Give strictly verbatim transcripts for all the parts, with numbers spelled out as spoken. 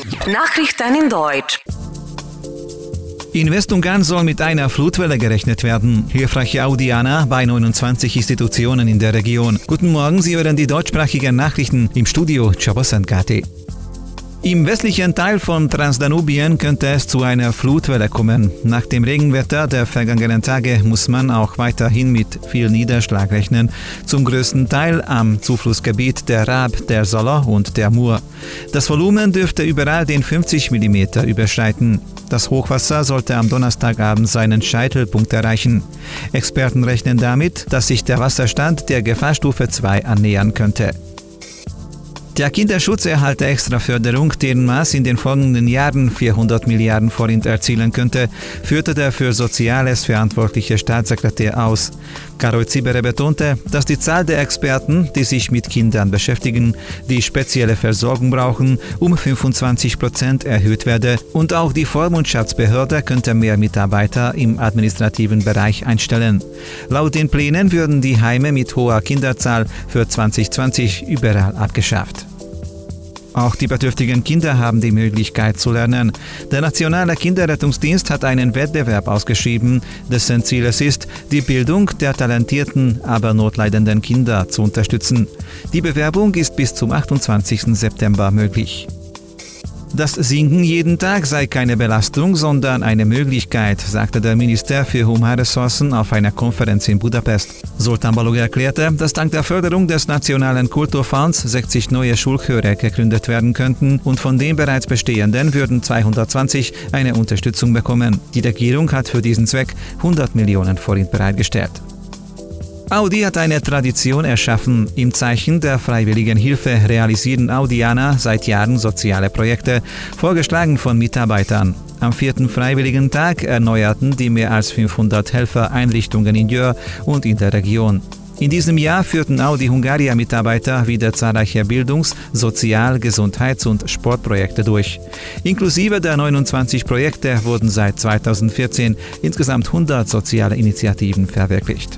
Nachrichten in Deutsch. In Westungarn soll mit einer Flutwelle gerechnet werden. Hilfreiche Audiana bei neunundzwanzig Institutionen in der Region. Guten Morgen, Sie hören die deutschsprachigen Nachrichten im Studio Csabosankati. Im westlichen Teil von Transdanubien könnte es zu einer Flutwelle kommen. Nach dem Regenwetter der vergangenen Tage muss man auch weiterhin mit viel Niederschlag rechnen, zum größten Teil am Zuflussgebiet der Rab, der Soller und der Mur. Das Volumen dürfte überall den fünfzig Millimeter überschreiten. Das Hochwasser sollte am Donnerstagabend seinen Scheitelpunkt erreichen. Experten rechnen damit, dass sich der Wasserstand der Gefahrstufe zwei annähern könnte. Der Kinderschutz erhalte extra Förderung, deren Maß in den folgenden Jahren vierhundert Milliarden Forint erzielen könnte, führte der für Soziales verantwortliche Staatssekretär aus. Karol Cibere betonte, dass die Zahl der Experten, die sich mit Kindern beschäftigen, die spezielle Versorgung brauchen, um fünfundzwanzig Prozent erhöht werde und auch die Vormundschaftsbehörde könnte mehr Mitarbeiter im administrativen Bereich einstellen. Laut den Plänen würden die Heime mit hoher Kinderzahl für zwanzig zwanzig überall abgeschafft. Auch die bedürftigen Kinder haben die Möglichkeit zu lernen. Der Nationale Kinderrettungsdienst hat einen Wettbewerb ausgeschrieben, dessen Ziel es ist, die Bildung der talentierten, aber notleidenden Kinder zu unterstützen. Die Bewerbung ist bis zum achtundzwanzigsten September möglich. Das Singen jeden Tag sei keine Belastung, sondern eine Möglichkeit, sagte der Minister für Humanressourcen auf einer Konferenz in Budapest. Sultan Balog erklärte, dass dank der Förderung des Nationalen Kulturfonds sechzig neue Schulchöre gegründet werden könnten und von den bereits bestehenden würden zweihundertzwanzig eine Unterstützung bekommen. Die Regierung hat für diesen Zweck hundert Millionen Forint bereitgestellt. Audi hat eine Tradition erschaffen. Im Zeichen der freiwilligen Hilfe realisieren Audianer seit Jahren soziale Projekte, vorgeschlagen von Mitarbeitern. Am vierten Freiwilligen Tag erneuerten die mehr als fünfhundert Helfer Einrichtungen in Győr und in der Region. In diesem Jahr führten Audi Hungaria-Mitarbeiter wieder zahlreiche Bildungs-, Sozial-, Gesundheits- und Sportprojekte durch. Inklusive der neunundzwanzig Projekte wurden seit zweitausendvierzehn insgesamt hundert soziale Initiativen verwirklicht.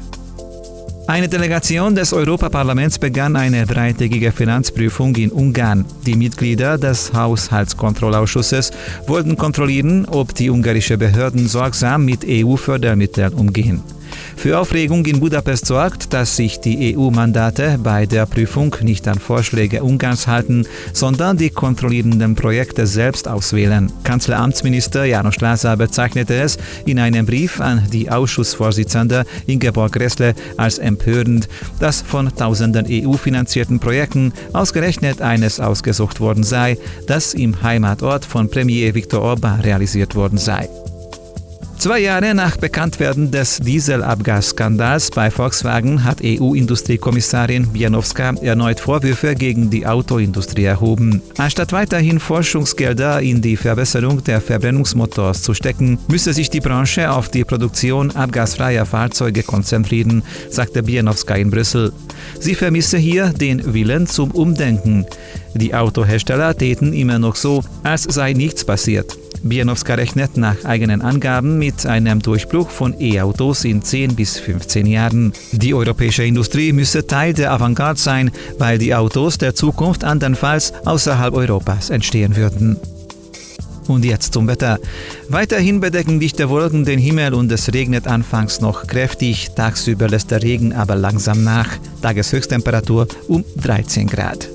Eine Delegation des Europaparlaments begann eine dreitägige Finanzprüfung in Ungarn. Die Mitglieder des Haushaltskontrollausschusses wollten kontrollieren, ob die ungarischen Behörden sorgsam mit E U-Fördermitteln umgehen. Für Aufregung in Budapest sorgt, dass sich die E U-Mandate bei der Prüfung nicht an Vorschläge Ungarns halten, sondern die kontrollierenden Projekte selbst auswählen. Kanzleramtsminister János Lázár bezeichnete es in einem Brief an die Ausschussvorsitzende Ingeborg Gräßle als empörend, dass von tausenden E U-finanzierten Projekten ausgerechnet eines ausgesucht worden sei, das im Heimatort von Premier Viktor Orbán realisiert worden sei. Zwei Jahre nach Bekanntwerden des Dieselabgasskandals bei Volkswagen hat E U-Industriekommissarin Bienowska erneut Vorwürfe gegen die Autoindustrie erhoben. Anstatt weiterhin Forschungsgelder in die Verbesserung der Verbrennungsmotors zu stecken, müsse sich die Branche auf die Produktion abgasfreier Fahrzeuge konzentrieren, sagte Bienowska in Brüssel. Sie vermisse hier den Willen zum Umdenken. Die Autohersteller täten immer noch so, als sei nichts passiert. Bienowska rechnet nach eigenen Angaben mit einem Durchbruch von E-Autos in zehn bis fünfzehn Jahren. Die europäische Industrie müsse Teil der Avantgarde sein, weil die Autos der Zukunft andernfalls außerhalb Europas entstehen würden. Und jetzt zum Wetter. Weiterhin bedecken dichte Wolken den Himmel und es regnet anfangs noch kräftig. Tagsüber lässt der Regen aber langsam nach. Tageshöchsttemperatur um dreizehn Grad.